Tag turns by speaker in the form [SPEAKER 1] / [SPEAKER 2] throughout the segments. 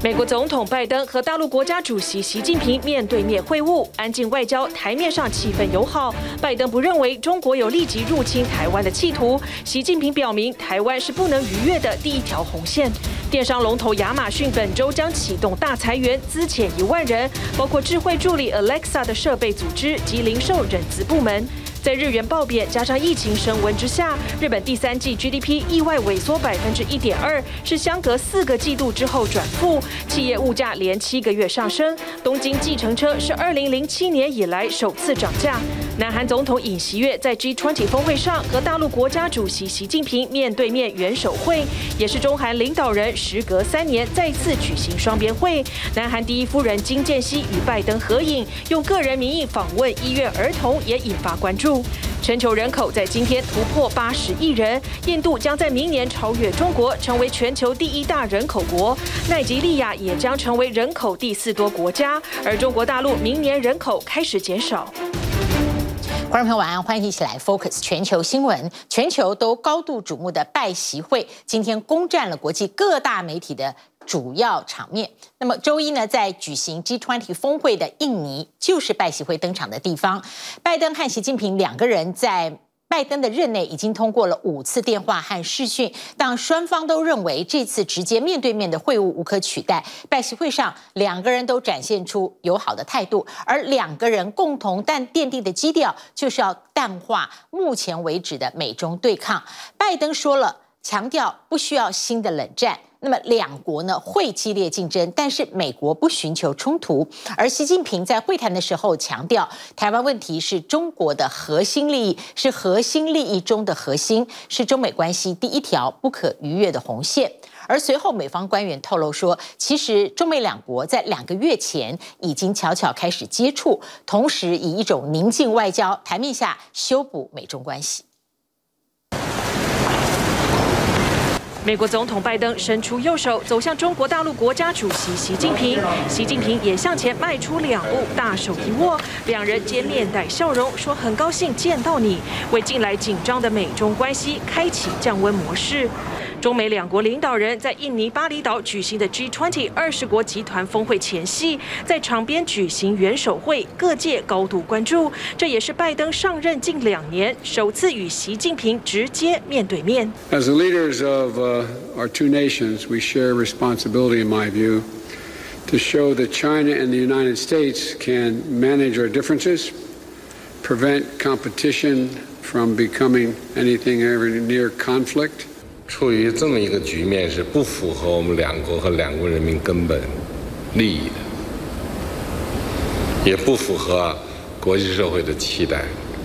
[SPEAKER 1] 美國總統拜登和大陸國家主席習近平面對面會晤，安靜外交，台面上氣氛友好。拜登不認為中國有立即入侵台灣的企圖，習近平表明台灣是不能逾越的第一條紅線。電商龍頭亞馬遜本周將啟動大裁員，資遣1萬人，包括智慧助理 Alexa 的設備組織及零售人資部門。在日元暴貶加上疫情升溫之下，日本第3季 GDP 意外萎縮1.2%，是相隔4個季度之後轉負。企業物價連7個月上升，東京計程車是2007年以來首次漲價。南韓總統尹錫悅在 G20 峰會上和大陸國家主席習近平面對面元首會，也是中韓領導人時隔3年再次舉行雙邊會。南韓第一夫人金建熙與拜登合影，用個人名義訪問醫院兒童，也引發關注。全球人口在今天突破80億人，印度將在明年超越中國，成為全球第1大人口國。奈及利亞也將成為人口第4多國家，而中國大陸明年人口開始減少。
[SPEAKER 2] 觀眾朋友晚安，歡迎一起來 Focus 全球新聞。全球都高度矚目的拜習會，今天攻占了國際各大媒體的主要場面。那麼周一呢，在舉行 G20 峰會的印尼，就是拜習會登場的地方。拜登和習近平兩個人在拜登的任內已經通過了5次電話和視訊，但雙方都認為這次直接面對面的會晤無可取代。拜習會上，兩個人都展現出友好的態度，而兩個人共同但奠定的基調就是要淡化目前為止的美中對抗。拜登說了，強調不需要新的冷戰。那麼兩國呢會激烈競爭，但是美國不尋求衝突。而習近平在會談的時候強調，台灣問題是中國的核心利益，是核心利益中的核心，是中美關係第1條不可逾越的紅線。而隨後美方官員透露說，其實中美兩國在2個月前已經悄悄開始接觸，同時以一種寧靜外交台面下修補美中關係。
[SPEAKER 1] 美國總統拜登伸出右手走向中國大陸國家主席習近平，習近平也向前邁出2步，大手一握，兩人皆面帶笑容，說很高興見到你，為近來緊張的美中關係開啟降溫模式。中美兩國領導人在印尼巴厘島舉行的 G20 20國集團峰會前夕，在場邊舉行元首會，各界高度關注。這也是拜登上任近2年首次與習近平直接面對面。
[SPEAKER 3] As the leaders of our two nations, we share responsibility, in my view, to show that China and the United States can manage our differences, prevent competition from becoming anything ever near conflict.
[SPEAKER 4] 處於這麼一個局面是不符合我們兩國和兩國人民根本利益的，也不符合國際社會的期待。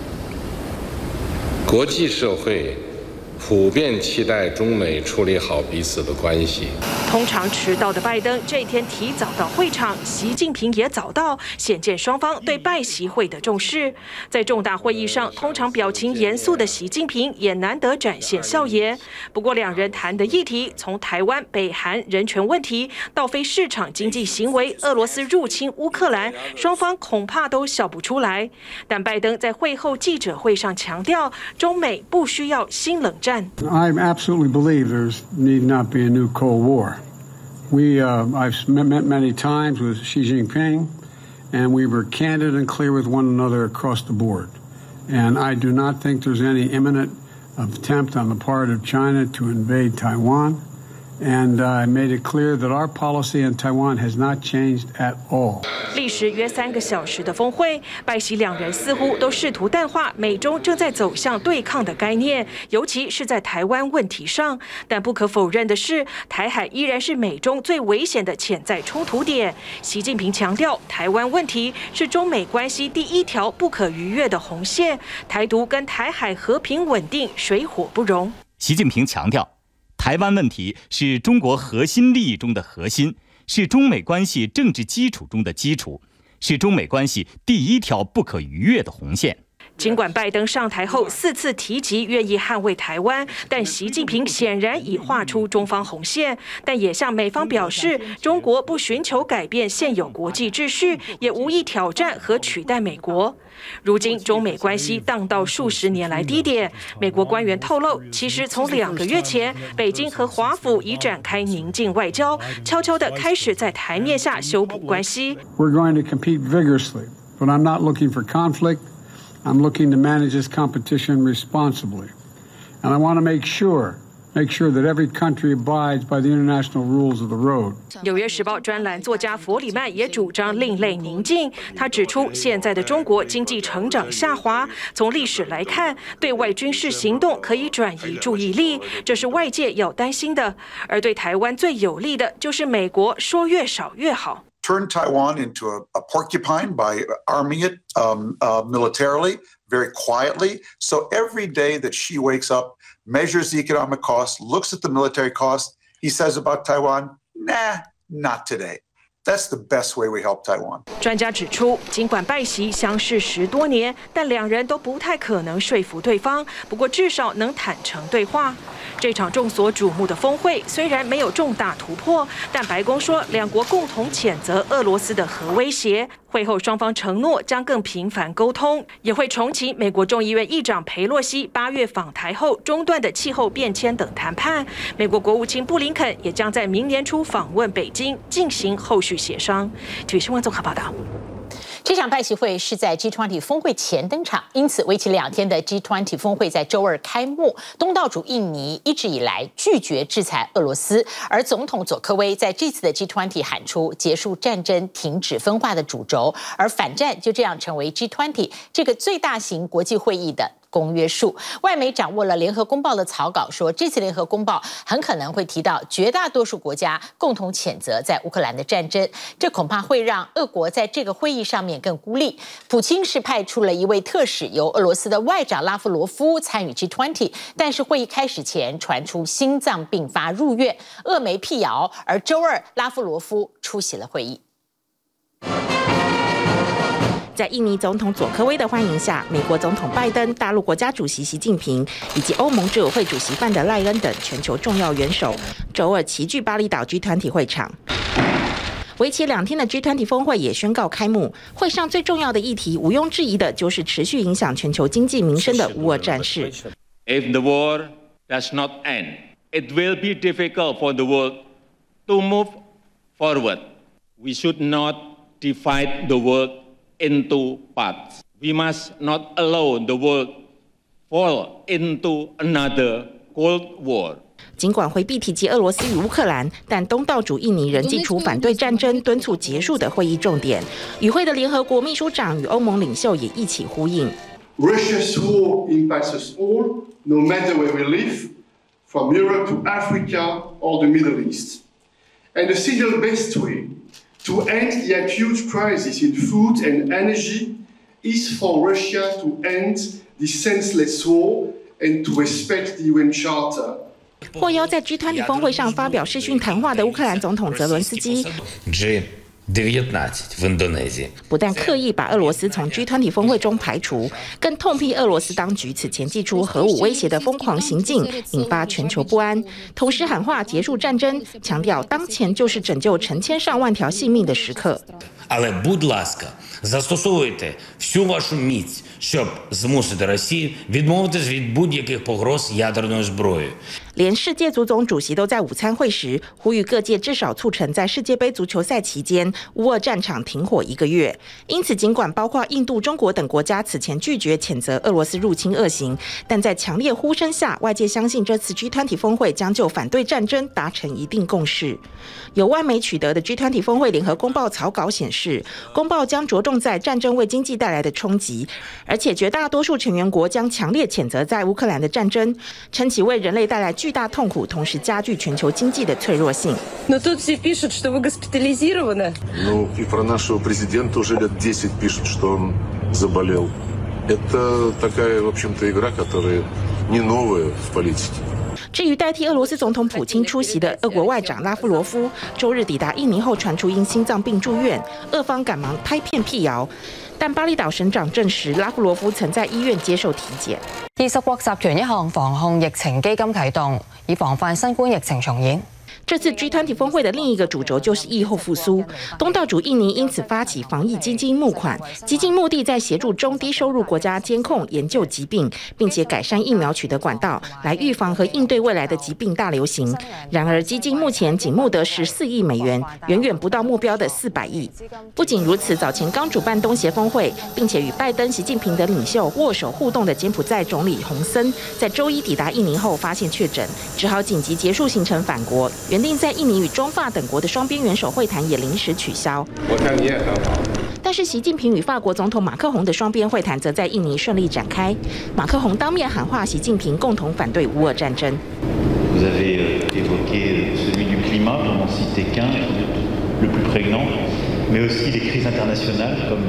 [SPEAKER 4] 國際社會普遍期待中美處理好彼此的關係。
[SPEAKER 1] 通常遲到的拜登這一天提早到會場，習近平也早到，顯見雙方對拜習會的重視。在重大會議上，通常表情嚴肅的習近平也難得展現笑顏。不過，兩人談的議題從台灣、北韓人權問題到非市場經濟行為、俄羅斯入侵烏克蘭，雙方恐怕都笑不出來。但拜登在會後記者會上強調，中美不需要新冷戰。
[SPEAKER 3] I absolutely believe there need not be a new Cold War. I've met many times with Xi Jinping, and we were candid and clear with one another across the board. And I do not think there's any imminent attempt on the part of China to invade Taiwan. And I made it clear that our policy in Taiwan has not changed at all.
[SPEAKER 1] 歷時約3個小時的峰會，拜習兩人似乎都試圖淡化美中正在走向對抗的概念，尤其是在台灣問題上。但不可否認的是，台海依然是美中最危險的潛在衝突點。習近平強調，台灣問題是中美關係第1條不可逾越的紅線，台獨跟台海和平穩定水火不容。
[SPEAKER 5] 習近平強調，台灣問題是中國核心利益中的核心，是中美關係政治基礎中的基礎，是中美關係第1條不可逾越的紅線。
[SPEAKER 1] 儘管拜登上台後4次提及願意捍衛台灣，但習近平顯然已畫出中方紅線，但也向美方表示，中國不尋求改變現有國際秩序，也無意挑戰和取代美國。如今中美關係盪到數十年來低點，美國官員透露，其實從2個月前，北京和華府已展開寧靜外交，悄悄地開始在台面下修補關係。
[SPEAKER 3] We're going to compete vigorously, but I'm not looking for conflict. I'm looking to manage this competition responsibly, and I want to make sure that every country abides by the international rules of the road.
[SPEAKER 1] 纽約時報專欄作家弗里曼也主張另類寧靜。他指出，現在的中國經濟成長下滑，從歷史來看，對外軍事行動可以轉移注意力，這是外界要擔心的。而對台灣最有利的，就是美國說越少越好。
[SPEAKER 6] Turn Taiwan into a porcupine by arming it militarily, very quietly. So every day that Xi wakes up, measures the economic cost, looks at the military cost, he says about Taiwan, nah, not today. That's the best way we help Taiwan.
[SPEAKER 1] 專家指出，儘管拜習相識10多年，但兩人都不太可能說服對方。不過至少能坦誠對話。這場眾所矚目的峰會雖然沒有重大突破，但白宮說兩國共同譴責俄羅斯的核威脅。會後雙方承諾將更頻繁溝通，也會重啟美國眾議院議長裴洛西8月訪台後中斷的氣候變遷等談判。美國國務卿布林肯也將在明年初訪問北京，進行後續協商。體育新聞綜合報道。
[SPEAKER 2] 這場拜習會是在 G20 峰會前登場，因此為期2天的 G20 峰會在周二開幕。東道主印尼一直以來拒絕制裁俄羅斯，而總統佐科威在這次的 G20 喊出結束戰爭、停止分化的主軸，而反戰就這樣成為 G20 這個最大型國際會議的公約數。外媒掌握了聯合公報的草稿，說這次聯合公報很可能會提到絕大多數國家共同譴責在烏克蘭的戰爭，這恐怕會讓俄國在這個會議上面更孤立。普京是派出了一位特使，由俄羅斯的外長拉夫羅夫參與 G20， 但是會議開始前傳出心臟病發入院，俄媒闢謠，而周二拉夫羅夫出席了會議。
[SPEAKER 7] 在印尼總統佐科威的歡迎下，美國總統拜登、大陸國家主席習近平以及歐盟執委會主席范德賴恩等全球重要元首，周二齊聚巴厘島 G20 會場。為期2天的 G20 峰會也宣告開幕。會上最重要的議題，毋庸置疑的就是持續影響全球經濟民生的烏俄戰事。
[SPEAKER 8] If the war does not end, it will be difficult for the world to move forward. We should not divide the world into parts. We must not allow the world fall into another Cold War.
[SPEAKER 7] 儘管回避提及俄羅斯與烏克蘭，但東道主印尼仍祭出反對戰爭、敦促結束的會議重點。與會的聯合國秘書長與歐盟領袖也一起呼應。
[SPEAKER 9] Russia's war impacts us all, no matter where we live, from Europe to Africa or the Middle East. And the single best way to end the acute crisis in food and energy is for Russia to end the senseless war and to respect the UN Charter.
[SPEAKER 7] 獲邀在 G20 峰會上發表視訊談話的烏克蘭總統澤倫斯基，不但刻意把俄羅斯從 G20 峰會中排除，更痛批俄羅斯當局此前祭出核武威脅的瘋狂行徑，引發全球不安。同時喊話結束戰爭，強調當前就是拯救成千上萬條性命的時刻。
[SPEAKER 10] Але, будь ласка, застосовуйте всю вашу міць, щоб змусити Росію відмовитись від будь-яких погроз ядерною зброєю.
[SPEAKER 7] 連世界足總主席都在午餐會時呼籲各界至少促成在世界杯足球賽期間烏俄戰場停火1個月。因此，儘管包括印度、中國等國家此前拒絕譴責俄羅斯入侵惡行，但在強烈呼聲下，外界相信這次 G20 峰會將就反對戰爭達成一定共識。由外媒取得的 G20 峰會聯合公報草稿顯示，公報將着重在戰爭為經濟帶來的衝擊，而且絕大多數成員國將強烈譴責在烏克蘭的戰爭，稱其為人類帶來巨大痛苦，同時加劇全球經濟的脆弱性。
[SPEAKER 11] Но тут все пишут, что вы госпитализированы.
[SPEAKER 12] Ну, и про нашего президента уже лет 10 пишут, что он заболел. Это такая, в общем-то, игра, которая не новая в политике.
[SPEAKER 7] 至於代替俄羅斯總統普京出席的俄國外長拉夫羅夫，周日抵達印尼後傳出因心臟病住院，俄方趕忙拍片闢謠。但巴厘島省長證實，拉夫羅夫曾在醫院接受體檢。
[SPEAKER 13] 20國集團一項防控疫情基金啟動，以防範新冠疫情重演。
[SPEAKER 7] 這次 G20 峰會的另一個主軸就是疫後復甦。東道主印尼因此發起防疫基金募款，基金目的在協助中低收入國家監控研究疾病，並且改善疫苗取得管道，來預防和應對未來的疾病大流行。然而，基金目前僅募得14億美元，遠遠不到目標的400億。不僅如此，早前剛主辦東協峰會，並且與拜登、習近平等領袖握手互動的柬埔寨總理洪森，在周一抵達印尼後發現確診，只好緊急結束行程返國。原定在印尼與中法等國的雙邊元首會談也臨時取消。
[SPEAKER 4] 我看你也很好。
[SPEAKER 7] 但是習近平與法國總統馬克宏的雙邊會談則在印尼順利展開。馬克宏當面喊話習近平共同反對烏俄戰爭。
[SPEAKER 14] Vous avez évoqué celui du climat, pour n'en citer qu'un, le plus prégnant, mais aussi les crises internationales comme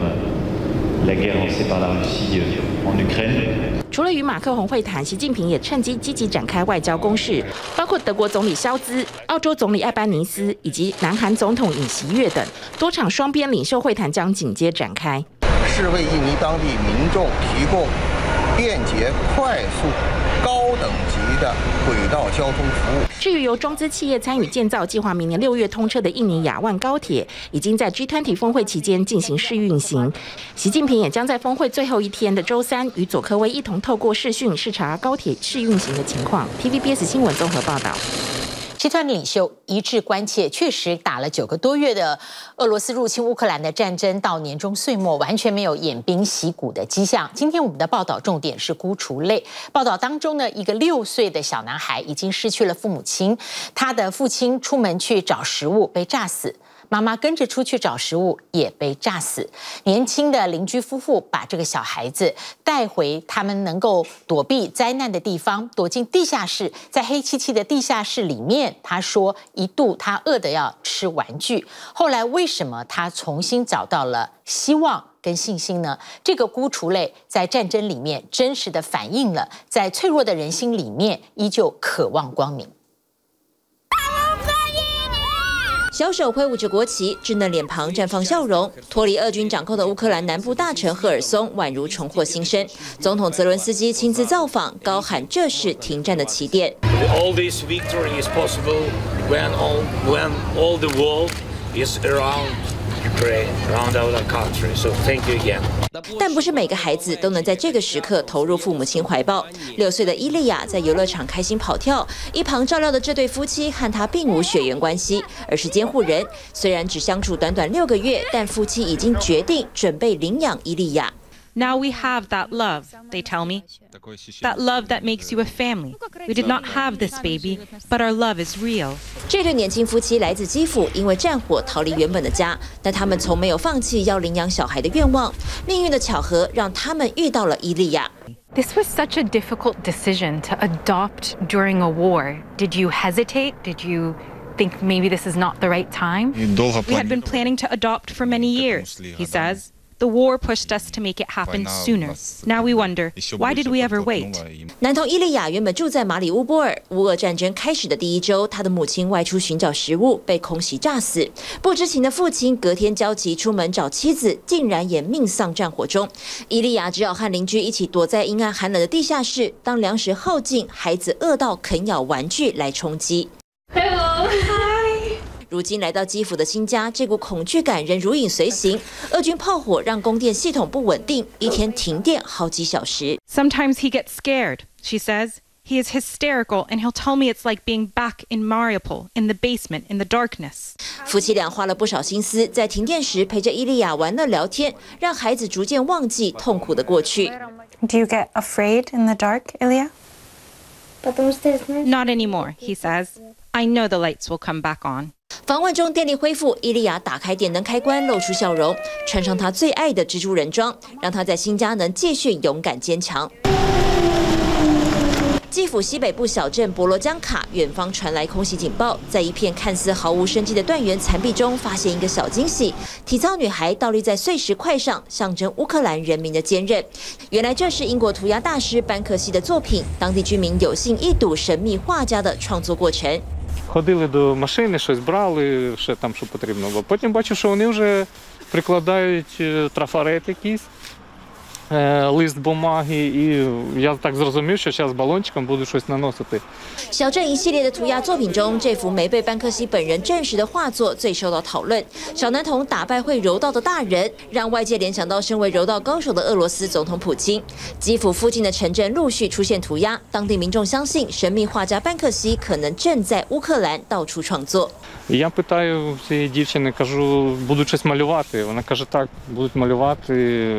[SPEAKER 14] la guerre lancée par la Russie en Ukraine.
[SPEAKER 7] 除了與馬克宏會談，習近平也趁機積極展開外交攻勢，包括德國總理蕭茲、澳洲總理艾班尼斯以及南韓總統尹錫悅等多場雙邊領袖會談將緊接展開。
[SPEAKER 15] 是為印尼當地民眾提供便捷、快速、高等級的軌道交通服務。
[SPEAKER 7] 至於由中資企業參與建造、計劃明年6月通車的印尼亞萬高鐵，已經在 G20 峰會期間進行試運行。習近平也將在峰會最後一天的周三與佐科威一同透過視訊視察高鐵試運行的情況。TVBS 新聞綜合報道。
[SPEAKER 2] 集團領袖一致關切，確實打了9個多月的俄羅斯入侵烏克蘭的戰爭，到年終歲末完全沒有偃兵息鼓的跡象。今天我們的報道重點是孤雛淚。報道當中呢，一個6歲的小男孩已經失去了父母親，他的父親出門去找食物被炸死。媽媽跟着出去找食物，也被炸死。年輕的鄰居夫婦把這個小孩子帶回他們能夠躲避災難的地方，躲進地下室。在黑漆漆的地下室裡面，他說一度他餓得要吃玩具。後來為什麼他重新找到了希望跟信心呢？這個孤雛淚在戰爭裡面真實的反映了，在脆弱的人心裡面依舊渴望光明。
[SPEAKER 16] 小手揮舞着國旗，稚嫩臉龐綻放笑容。脫離俄軍掌控的烏克蘭南部大城赫爾松，宛如重獲新生。總統澤倫斯基親自造訪，高喊這是停戰的起點。
[SPEAKER 17] All this victory is possible when all the world is around Ukraine, around our country. So thank you again.
[SPEAKER 16] 但不是每個孩子都能在這個時刻投入父母親懷抱。6歲的伊利亞在遊樂場開心跑跳，一旁照料的這對夫妻和他並無血緣關係，而是監護人。雖然只相處短短6個月，但夫妻已經決定準備領養伊利亞。
[SPEAKER 18] Now we have that love, they tell me. That love that makes you a family. We did not have this baby, but our love is real.
[SPEAKER 16] 這對年輕夫妻來自基輔，因為戰火逃離原本的家，但他們從沒有放棄要領養小孩的願望。命運的巧合讓他們遇到了伊利亞。
[SPEAKER 19] This was such a difficult decision to adopt during a war. Did you hesitate? Did you think maybe this is not the right time?
[SPEAKER 18] We had been planning to adopt for many years, he says. The war pushed us to make it happen sooner. Now we wonder, why did we ever wait?
[SPEAKER 16] 男童伊利亞原本住在馬里烏波爾。烏俄戰爭開始的第一周，他的母親外出尋找食物，被空襲炸死。不知情的父親隔天焦急出門找妻子，竟然也命喪戰火中。伊利亞只好和鄰居一起躲在陰暗寒冷的地下室，當糧食耗盡，孩子餓到啃咬玩具來充飢。
[SPEAKER 19] Hello.
[SPEAKER 16] 如今來到基輔的新家，這股恐懼感仍如影隨形。俄軍炮火讓供電系統不穩定，一天停電好幾小時。
[SPEAKER 18] Sometimes he gets scared, she says. He is hysterical, and he'll tell me it's like being back in Mariupol, in the basement, in the darkness.
[SPEAKER 16] 夫妻倆花了不少心思，在停電時陪着伊利亞玩樂聊天，讓孩子逐漸忘記痛苦的過去。
[SPEAKER 20] Do you get afraid in the dark, Ilya?
[SPEAKER 18] Not anymore, he says. I know the lights will come back on.
[SPEAKER 16] 訪問中電力恢復，伊利亞打開電燈開關，露出笑容，穿上她最愛的蜘蛛人裝，讓她在新家能繼續勇敢堅強。 基輔西北部小鎮博羅江卡，遠方傳來空襲警報，在一片看似毫無生機的斷垣殘壁中，發現一個小驚喜：體操女孩倒立在碎石塊上，象徵烏克蘭人民的堅韌。原來這是英國塗鴉大師班克西的作品，當地居民有幸一睹神秘畫家的創作過程。
[SPEAKER 21] Ходили до машини, щось брали, ще там, що потрібно було. Потім бачу, що вони вже прикладають трафарет якийсь, лист бумаги, і я так зрозумів, що зараз балончиком буду щось наносити.
[SPEAKER 16] 小鎮一系列的塗鴉作品中，這幅沒被班克西本人證實的畫作最受到討論。小男童打敗會柔道的大人，讓外界聯想到身為柔道高手的俄羅斯總統普京。基輔附近的城鎮陸續出現塗鴉，當地民眾相信神秘畫家班克西可能正在烏克蘭到處創作。
[SPEAKER 21] Я питаю цієї дівчини, кажу, будуть щось малювати. Вона каже, так, будуть малювати.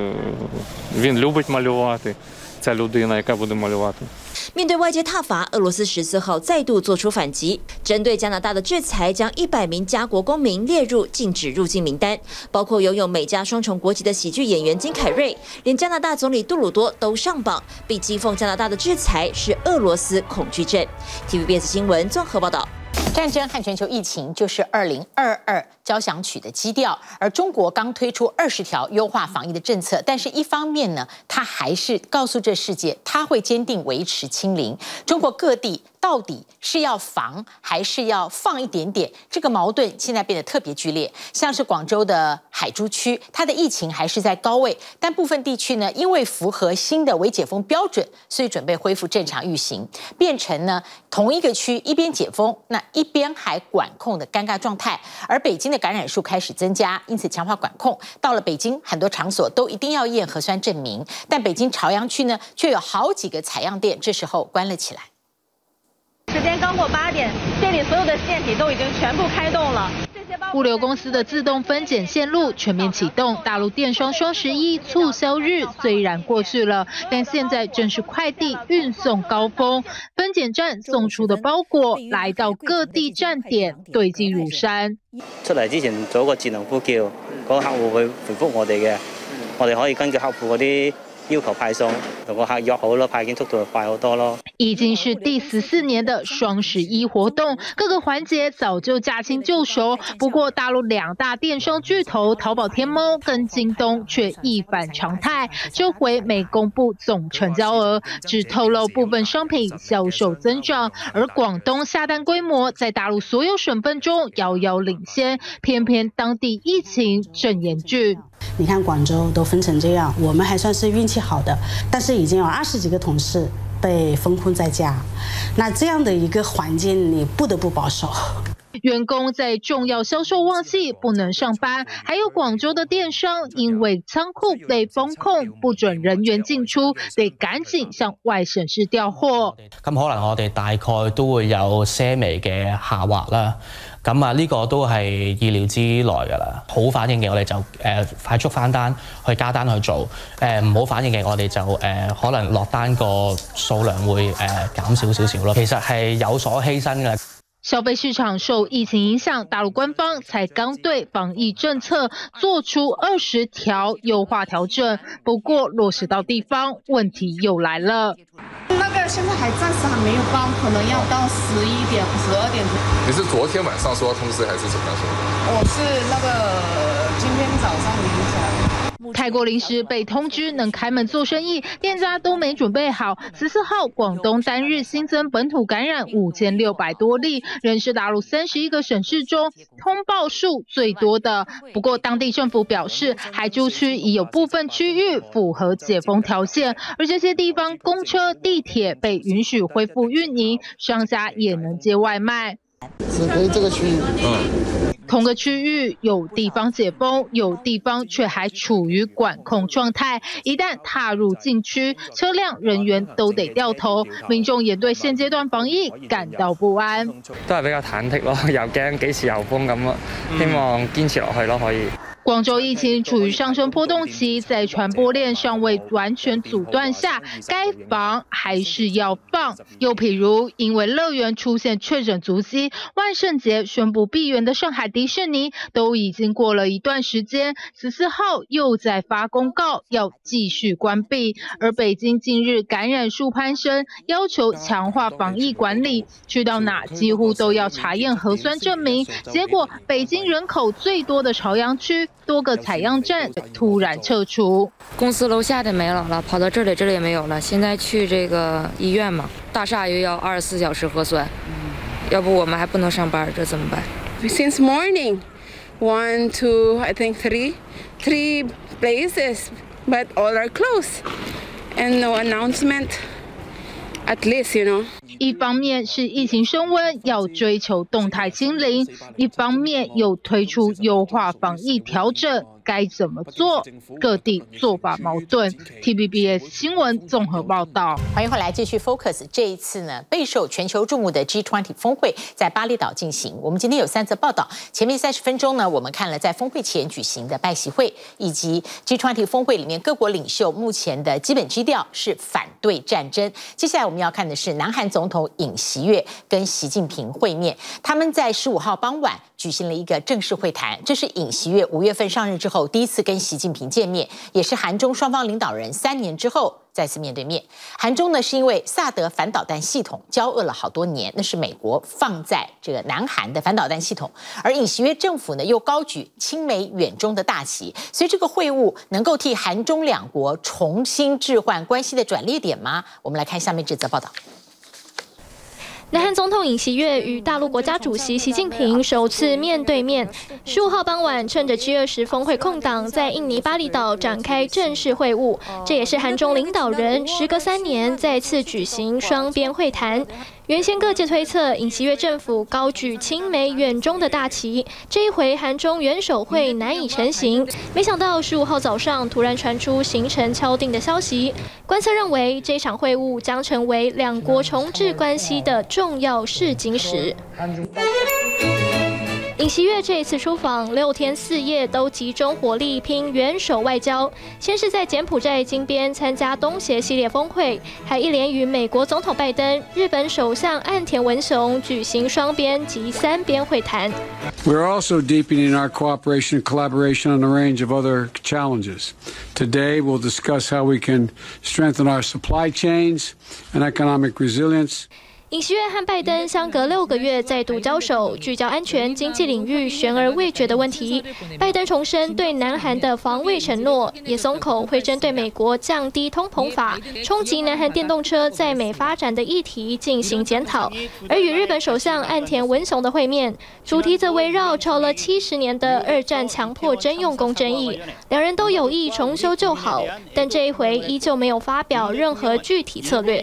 [SPEAKER 21] Він любить малювати. Ця людина, яка буде малювати.
[SPEAKER 16] 面對外界撻伐，俄羅斯14號再度做出反擊，針對加拿大的制裁，將100名加國公民列入禁止入境名單，包括擁有美加雙重國籍的喜劇演員金凱瑞，連加拿大總理杜魯多都上榜，被譏諷加拿大的制裁是俄羅斯恐懼症。TVBS 新聞綜合報道。
[SPEAKER 2] 戰爭和全球疫情就是2022交響曲的基調，而中國剛推出20條優化防疫的政策，但是一方面呢，它還是告訴這世界，它會堅定維持清零。中國各地到底是要防還是要放一點點？這個矛盾現在變得特別劇烈。像是廣州的海珠區，它的疫情還是在高位，但部分地區呢，因為符合新的微解封標準，所以準備恢復正常運行，變成呢同一個區一邊解封，那一邊還管控的尷尬狀態。而北京的感染數開始增加，因此強化管控。到了北京，很多場所都一定要驗核酸證明，但北京朝陽區呢，卻有好幾個採樣店這時候關了起來。
[SPEAKER 22] 時間剛過8點，店裡所有的線體都已經全部開動了。物流公司的自動分揀線路全面啟動。大陸電商雙11促銷日雖然過去了，但現在正是快遞運送高峰，分揀站送出的包裹來到各地站點堆積如山。
[SPEAKER 23] 出嚟之前做一個智能呼叫，嗰個客戶會回覆我哋嘅，我哋可以根據客戶嗰啲要求派送，同個客約好咯，派件速度快好多咯。
[SPEAKER 22] 已經是第14年的雙11活動，各個環節早就駕輕就熟。不過，大陸2大電商巨頭淘寶、天貓跟京東卻一反常態，這回沒公布總成交額，只透露部分商品銷售增長。而廣東下單規模在大陸所有省份中遙遙領先，偏偏當地疫情正嚴峻。
[SPEAKER 24] 你看廣州都分成這樣，我們還算是運氣好的，但是已經有20幾個同事被封控在家，那這樣的一個環境，你不得不保守。
[SPEAKER 22] 員工在重要銷售旺季不能上班，還有廣州的電商因為倉庫被封控，不准人員進出，得趕緊向外省市調貨。
[SPEAKER 25] 咁可能我哋大概都會有些微嘅下滑啦。咁啊，呢個都係意料之內㗎啦。好反應嘅我哋就快速翻單去加單去做。唔好反應嘅我哋就可能落單個數量會減少少少咯。其實係有所犧牲嘅。
[SPEAKER 22] 消費市場受疫情影響，大陸官方才剛對防疫政策做出20條優化調整，不過落實到地方，問題又來了。
[SPEAKER 26] 那個現在還暫時還沒有報，可能要到11點、12點。
[SPEAKER 12] 你是昨天晚上收到通知，還是怎麼樣說？
[SPEAKER 26] 我是那個今天早上凌晨。
[SPEAKER 22] 泰國臨時被通知能開門做生意，店家都沒準備好。14號，廣東單日新增本土感染5600多例，仍是大陸31個省市中通報數最多的。不過，當地政府表示，海珠區已有部分區域符合解封條件，而這些地方公車、地鐵被允許恢復運營，商家也能接外賣。
[SPEAKER 24] 只可以這個區域。
[SPEAKER 22] 同個區域有地方解封，有地方卻還處於管控狀態。一旦踏入禁區，車輛人員都得掉頭。民眾也對現階段防疫感到不安，
[SPEAKER 21] 都係比較忐忑咯，又驚幾時又封咁咯。希望堅持落去咯，可以。
[SPEAKER 22] 廣州疫情處於上升波動期，在傳播鏈尚未完全阻斷下，該防還是要放。又譬如，因為樂園出現確診足跡，萬聖節宣布閉園的上海迪士尼，都已經過了一段時間，14號又在發公告要繼續關閉。而北京近日感染數攀升，要求強化防疫管理，去到哪幾乎都要查驗核酸證明。結果，北京人口最多的朝陽區，多個採樣站突然撤除。
[SPEAKER 1] 公司樓下的沒有了，跑到這裡也沒有了。現在去這個醫院嘛，大廈又要24小時核酸，要不我們還不能上班，這怎麼辦
[SPEAKER 26] Since morning, 1, 2, I think 3 places, but all are closed, and no announcement. At least, you know.
[SPEAKER 22] 一方面是疫情升溫，要追求動態清零；一方面又推出優化防疫調整，該怎麼做？各地做法矛盾。TVBS 新聞綜合報道。
[SPEAKER 2] 歡迎回來繼續 Focus。這一次呢，備受全球注目的 G20 峰會在巴厘島進行。我們今天有3則報道。前面30分鐘呢，我們看了在峰會前舉行的拜習會，以及 G20 峰會裡面各國領袖目前的基本基調是反對戰爭。接下來我們要看的是南韓總統尹錫悅跟習近平會面，他們在15號傍晚舉行了一個正式會談。這是尹錫悅5月份上任之後第一次跟習近平見面，也是韓中雙方領導人3年之後再次面對面。韓中呢是因為薩德反導彈系統交惡了好多年，那是美國放在這個南韓的反導彈系統，而尹錫悅政府呢又高舉親美遠中的大旗，所以這個會晤能夠替韓中兩國重新置換關係的轉捩點嗎？我們來看下面這則報道。
[SPEAKER 3] 南韓總統尹錫悅與大陸國家主席習近平首次面對面。15號傍晚，趁着 G20 峰會空檔，在印尼巴厘島展開正式會晤。這也是韓中領導人時隔3年再次舉行雙邊會談。原先各界推測，尹錫悅政府高舉親美遠中的大旗，這一回韓中元首會難以成行。沒想到15號早上突然傳出行程敲定的消息，觀測認為這場會晤將成為兩國重置關係的重要試金石。尹錫悅這一次出訪6天4夜都集中火力拼元首外交，先是在柬埔寨金邊參加東協系列峰會，還一連與美國總統拜登、日本首相岸田文雄舉行雙邊及3邊會談。
[SPEAKER 5] We are also deepening our cooperation and collaboration on a range of other challenges. Today, we'll discuss how we can strengthen our supply chains and economic resilience.
[SPEAKER 3] 尹錫悅和拜登相隔6個月再度交手，聚焦安全、經濟領域懸而未決的問題。拜登重申對南韓的防衛承諾，也鬆口會針對美國降低通膨法、衝擊南韓電動車在美發展的議題進行檢討。而與日本首相岸田文雄的會面，主題則圍繞吵了70年的2戰強迫徵用工爭議。兩人都有意重修舊好，但這一回依舊沒有發表任何具體策略。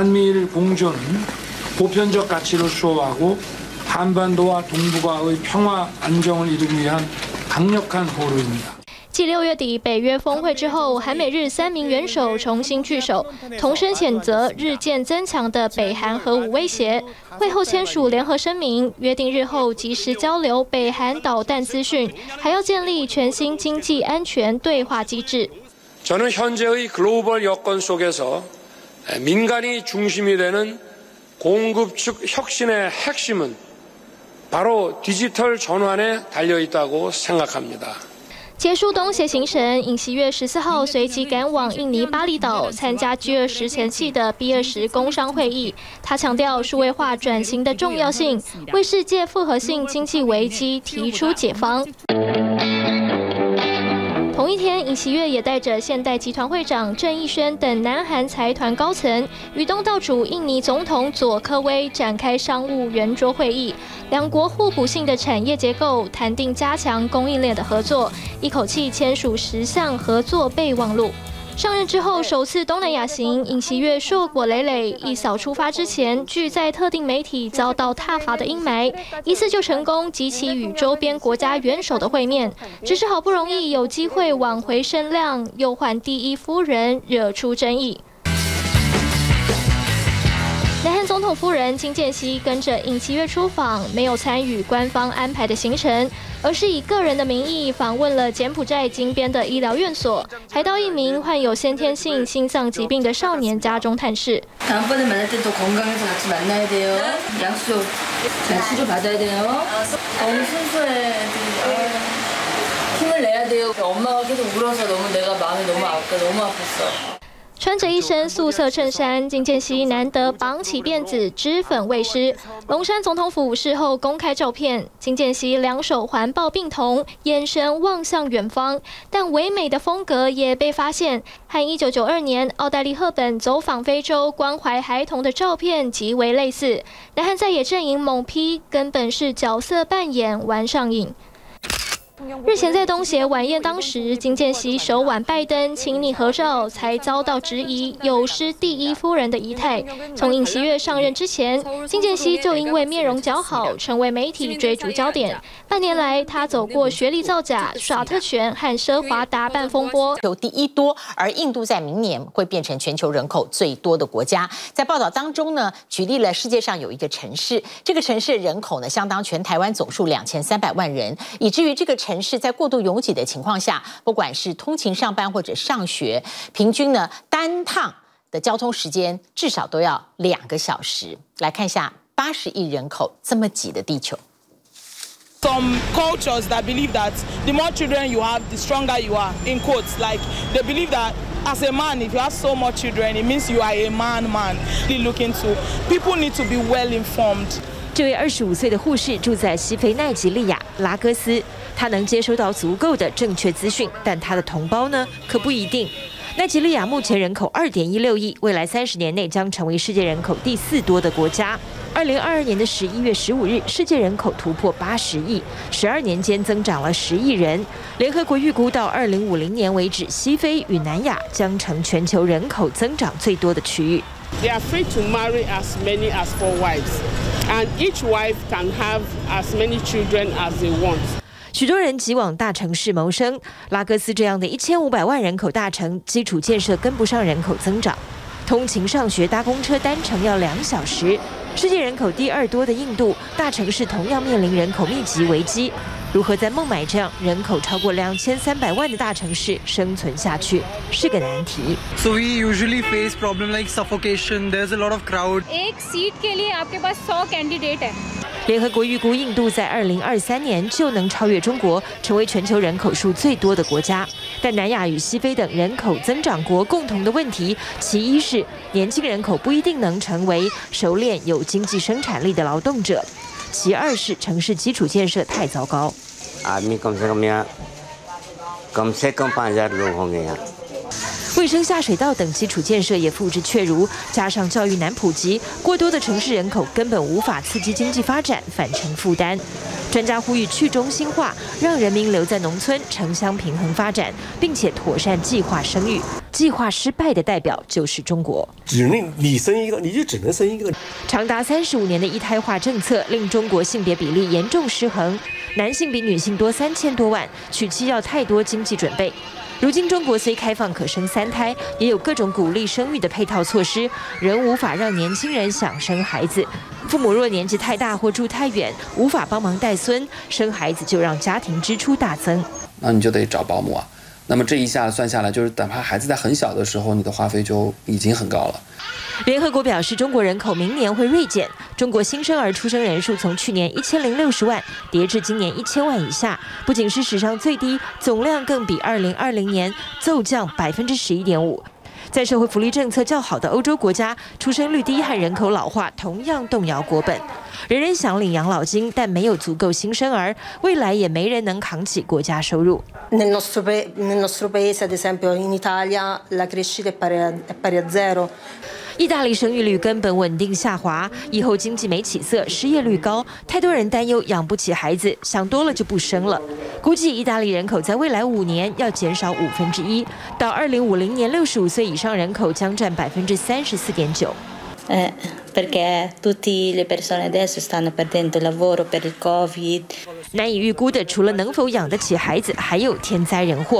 [SPEAKER 6] 보편적 가치를 수호하고 한반도와 동북아의 평화 안정을 이루기 위한 강력한 포로입니다.
[SPEAKER 3] 繼6月底北約峰會之後，韓美日3名元首重新聚首，同聲譴責日漸增強的北韓核武威脅。會後簽署聯合聲明，約定日後及時交流北韓導彈資訊，還要建立全新經濟安全對話機制。
[SPEAKER 6] 저는 현재의 글로벌 여건 속에서 민간이 중심이 되는 공급 측 혁신의 핵심은 바로 디지털 전환에 달려 있다고 생각합니다.
[SPEAKER 3] 結束東協行程，尹錫悅14號隨即趕往印尼巴厘島參加 G20 前夕的 B20 工商會議。他強調數位化轉型的重要性，為世界複合性經濟危機提出解方。 同一天，尹錫悅也帶着現代集團會長鄭義宣等南韓財團高層，與東道主印尼總統佐科威展開商務圓桌會議。兩國互補性的產業結構，談定加強供應鏈的合作，一口氣簽署10項合作備忘錄。 上任之後首次東南亞行，尹錫悅碩果累累。一掃出發之前，拒在特定媒體遭到撻伐的陰霾，一次就成功激起與周邊國家元首的會面。只是好不容易有機會挽回聲量，又換第一夫人惹出爭議。 南韓總統夫人金建熙跟着尹錫悅出訪，沒有參與官方安排的行程。 而是以個人的名義訪問了柬埔寨金邊的醫療院所，還到一名患有先天性心臟疾病的少年家中探視。
[SPEAKER 1] 다음번에 만날 때 또 건강해서 같이 만나야 돼요. 약속 잘 치료받아야 돼요. 너무 순수해. 힘을 내야 돼요. 엄마가 계속 울어서 너무 내가 마음이 너무 아팠어.
[SPEAKER 3] 穿着一身素色襯衫，金建熙難得綁起辮子，脂粉未施。龍山總統府事後公開照片，金建熙兩手環抱病童，眼神望向遠方，但唯美的風格也被發現，和1992年奧黛麗·赫本走訪非洲關懷孩童的照片極為類似。南韓在野陣營猛批，根本是角色扮演玩上癮。日前在東協晚宴當時，金建熙手挽拜登親昵合照，才遭到質疑有失第一夫人的儀態。從尹錫悅上任之前，金建熙就因為面容姣好，成為媒體追逐焦點。半年來，他走過學歷造假、耍特權和奢華打扮風波。
[SPEAKER 2] 第一多，而印度在明年會變成全球人口最多的國家。在報道當中呢，舉例了世界上有一個城市，這個城市人口呢相當全台灣總數2300萬人，以至於這個城市在過度擁擠的情況下，不管是通勤上班或者上學，平均呢單趟的交通時間至少都要2個小時。來看一下80億人口這麼擠的地球。
[SPEAKER 4] Some cultures that believe that the more children you have, the stronger you are. In quotes, like they believe that as a man, if you have so much children, it means you are a man. Really look into. People need to be well informed.
[SPEAKER 16] 这位25歲的護士住在西非奈及利亞拉各斯，他能接收到足夠的正確資訊，但他的同胞呢，可不一定。奈及利亞目前人口2.16億，未來30年內將成為世界人口第4多的國家。2022年的11月15日，世界人口突破80億，12年間增長了10億人。聯合國預估到2050年為止，西非與南亞將成全球人口增長最多的區域。
[SPEAKER 4] They are free to marry as many as 4 wives, and each wife can have as many children as they want.
[SPEAKER 16] 許多人急往大城市謀生，拉各斯這樣的1500萬人口大城，基礎建設跟不上人口增長，通勤上學搭公車單程要2小時。世界人口第2多的印度，大城市同樣面臨人口密集危機。如何在孟買這樣人口超過2300萬的大城市生存下去，是個難題。
[SPEAKER 8] So we usually face problem like suffocation. There's a lot of crowd.
[SPEAKER 9] एक सीट के लिए आपके पास 100 कैंडिडेट है。
[SPEAKER 16] 聯合國預估，印度在2023年就能超越中國，成為全球人口數最多的國家。但南亞與西非等人口增長國共同的問題，其一是年輕人口不一定能成為熟練有經濟生產力的勞動者，其二是城市基礎建設太糟糕。衛生下水道等基礎建設也付之闕如，加上教育難普及，過多的城市人口根本無法刺激經濟發展，反成負擔。專家呼籲去中心化，讓人民留在農村，城鄉平衡發展，並且妥善計劃生育。計劃失敗的代表就是中國。
[SPEAKER 10] 只能你生一個，你就只能生一個。
[SPEAKER 16] 長達35年的一胎化政策令中國性別比例嚴重失衡，男性比女性多3000多萬，娶妻要太多經濟準備。如今中國雖開放可生3胎，也有各種鼓勵生育的配套措施，仍無法讓年輕人想生孩子。父母若年紀太大或住太遠，無法幫忙帶孫，生孩子就讓家庭支出大增。
[SPEAKER 11] 那你就得找保姆啊。那麼這一下算下來，就是哪怕孩子在很小的時候，你的花費就已經很高了。
[SPEAKER 16] 聯合國表示，中國人口明年會銳減，中國新生兒出生人數從去年1060萬跌至今年1000萬以下，不僅是史上最低，總量更比2020年驟降11.5%。在社會福利政策較好的歐洲國家，出生率低和人口老化同樣動搖國本。人人想領養老金，但沒有足夠新生兒，未來也沒人能扛起國家收入。
[SPEAKER 13] Nel nostro paese, ad esempio, in Italia, la crescita è pari a 0。
[SPEAKER 16] 意大利生育率根本穩定下滑，以後經濟沒起色，失業率高，太多人擔憂養不起孩子，想多了就不生了。估計意大利人口在未來5年要減少1/5，到2050年65歲以上人口將佔34.9%。
[SPEAKER 13] Perché tutte le persone adesso stanno perdendo il lavoro per il Covid。
[SPEAKER 16] 難以預估的，除了能否養得起孩子，還有天災人禍。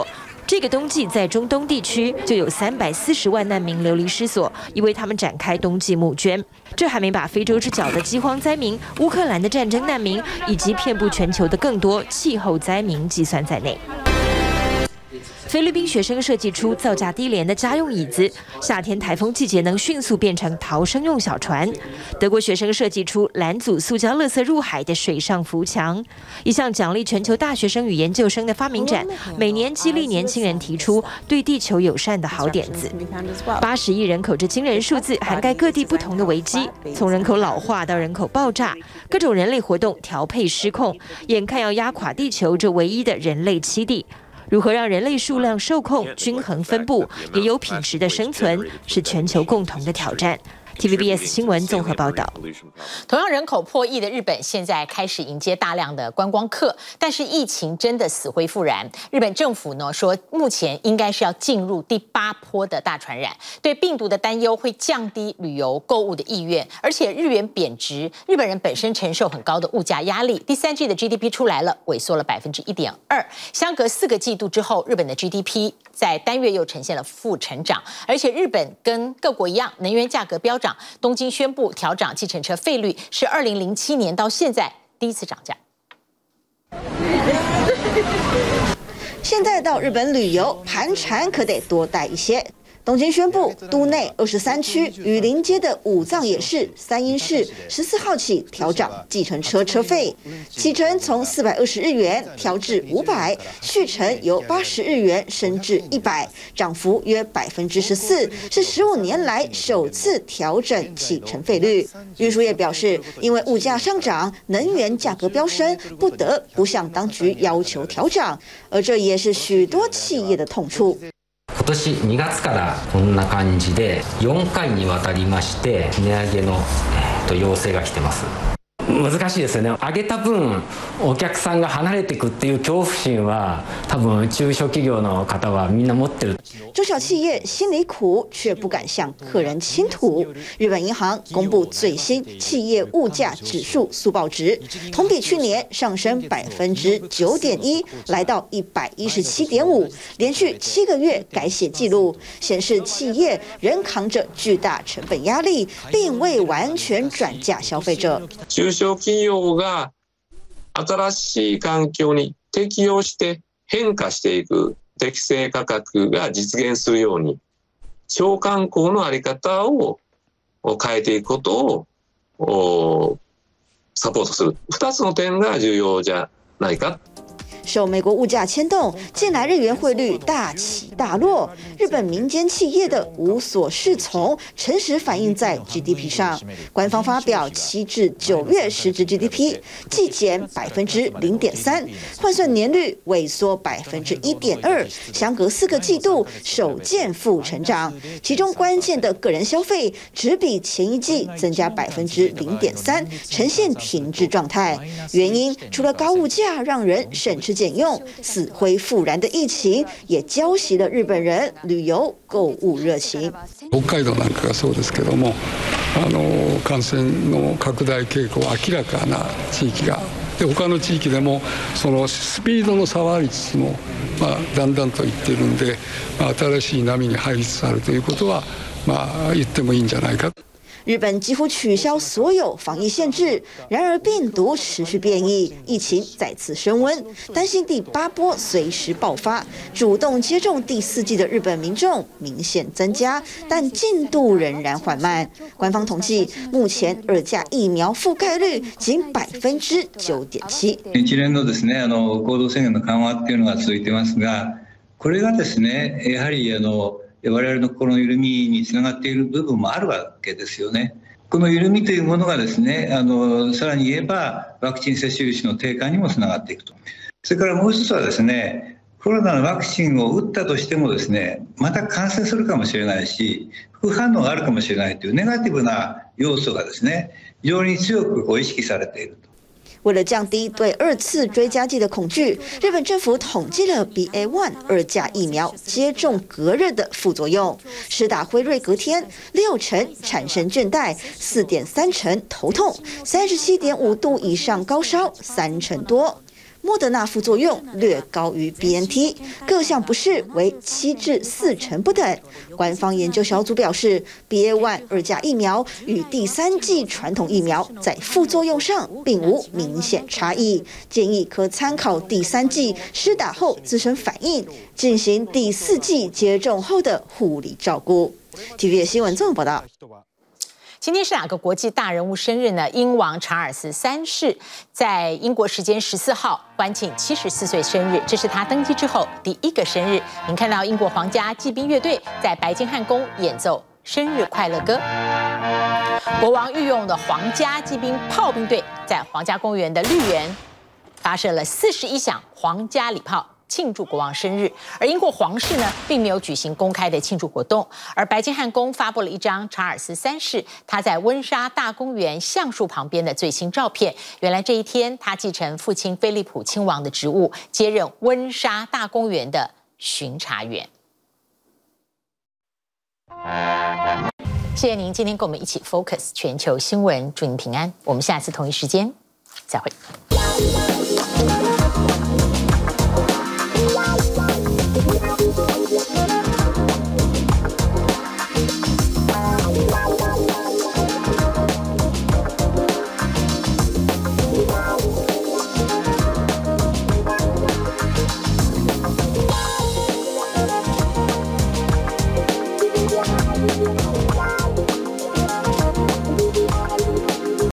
[SPEAKER 7] 這個冬季在中東地區就有340萬難民流離失所，已為他們展開冬季募捐。這還沒把非洲之角的饑荒災民、烏克蘭的戰爭難民，以及遍布全球的更多氣候災民計算在內。菲律賓學生設計出造價低廉的家用椅子，夏天颱風季節能迅速變成逃生用小船。德國學生設計出攔阻塑膠垃圾入海的水上浮牆。一項獎勵全球大學生與研究生的發明展，每年激勵年輕人提出對地球友善的好點子。80億人口這驚人數字，涵蓋各地不同的危機，從人口老化到人口爆炸，各種人類活動調配失控，眼看要壓垮地球這唯一的人類棲地。如何讓人類數量受控、均衡分布，也有品質的生存，是全球共同的挑戰。TVBS 新聞綜合報道。
[SPEAKER 2] 同樣人口破億的日本，現在開始迎接大量的觀光客，但是疫情真的死灰復燃。日本政府呢說，目前應該是要進入第8波的大傳染，對病毒的擔憂會降低旅遊購物的意願，而且日元貶值，日本人本身承受很高的物價壓力。第3季的 GDP 出來了，萎縮了1.2%，相隔4個季度之後，日本的 GDP 在單月又呈現了負成長，而且日本跟各國一樣，能源價格飆漲。東京宣布調漲計程車費率，是2007年到現在第一次漲價。
[SPEAKER 14] 現在到日本旅遊，盤纏可得多帶一些。東京宣布，都內23區與鄰接的武藏野市、三鷹市14號起調漲計程車車費，啟程從420日元調至500，續程由80日元升至100，漲幅約14%，是15年來首次調整啟程費率。運輸業表示，因為物價上漲，能源價格飆升，不得不向當局要求調漲，而這也是許多企業的痛處。
[SPEAKER 15] 今年2月からこんな感じで4回にわたりまして値上げの要請が来てます。難しいですよね。上げた分お客さんが離れていくっていう恐怖心は多分中小企業の方はみんな持ってる。
[SPEAKER 14] 中小企業心裡苦，卻不敢向客人傾吐。日本銀行公布最新企業物價指數速報值，同比去年上升9.1%，來到117.5，連續7個月改寫記錄，顯示企業仍扛着巨大成本壓力，並未完全轉嫁消費者。
[SPEAKER 17] 中小企業が新しい環境に適応して変化していく適正価格が実現するように、商慣行の在り方を変えていくことをサポートする。2つの點が重要じゃないか。
[SPEAKER 14] 受美國物價牽動，近來日元匯率大起大落，日本民間企業的無所適從，誠實反映在 GDP 上。官方發表7至9月實質 GDP 季減0.3%，換算年率萎縮1.2%，相隔4個季度首見負成長。其中關鍵的個人消費只比前一季增加0.3%，呈現停滯狀態。原因除了高物價讓人省吃儉用，死灰復燃的疫情也澆熄了日本人旅遊購物熱情。
[SPEAKER 5] 北海道なんかがそうですけども、感染の拡大傾向明らかな地域が。で他の地域でもそのスピードの差はありつつも、だんだんといっているんで、新しい波に入りつつあるということは、言ってもいいんじゃないか。
[SPEAKER 14] 日本幾乎取消所有防疫限制，然而病毒持續變異，疫情再次升溫，擔心第8波隨時爆發。主動接種第4劑的日本民眾明顯增加，但進度仍然緩慢。官方統計，目前2價疫苗覆蓋率僅9.7%。
[SPEAKER 19] 一連のですね、行動制限の緩和っていうのが続いてますが、これがですね、やはり我々の心の緩みにつながっている部分もあるわけですよね。この緩みというものがですね、さらに言えばワクチン接種率の低下にもつながっていくと。それからもう一つはですね、コロナのワクチンを打ったとしてもですね、また感染するかもしれないし、副反応があるかもしれないというネガティブな要素がですね、非常に強く意識されていると。
[SPEAKER 14] 為了降低對2次追加劑的恐懼，日本政府統計了 BA.1 2價疫苗接種隔日的副作用，施打輝瑞隔天60%產生倦怠，4.3%頭痛，37.5度以上高燒3%多。 莫德納副作用略高於 BNT， 各項不適為7至4成不等。官方研究小組表示 ，BA.1 2價疫苗與第3劑傳統疫苗在副作用上並無明顯差異，建議可參考第3劑施打後自身反應，進行第4劑接種後的護理照顧。TVBS 新聞綜合報道。
[SPEAKER 2] 今天是哪個國際大人物生日呢？英王查爾斯3世在英國時間14號歡慶74歲生日，這是他登基之後第一個生日。您看到英國皇家騎兵樂隊在白金漢宮演奏生日快樂歌。國王御用的皇家騎兵炮兵隊在皇家公園的綠園發射了41響皇家禮炮，慶祝國王生日。而英國皇室呢，並沒有舉行公開的慶祝活動。而白金漢宮發布了一張查爾斯3世他在溫莎大公園橡樹旁邊的最新照片。原來這一天，他繼承父親菲利普親王的職務，接任溫莎大公園的巡查員。謝謝您今天跟我們一起 Focus 全球新聞，祝您平安。我們下次同一時間再會。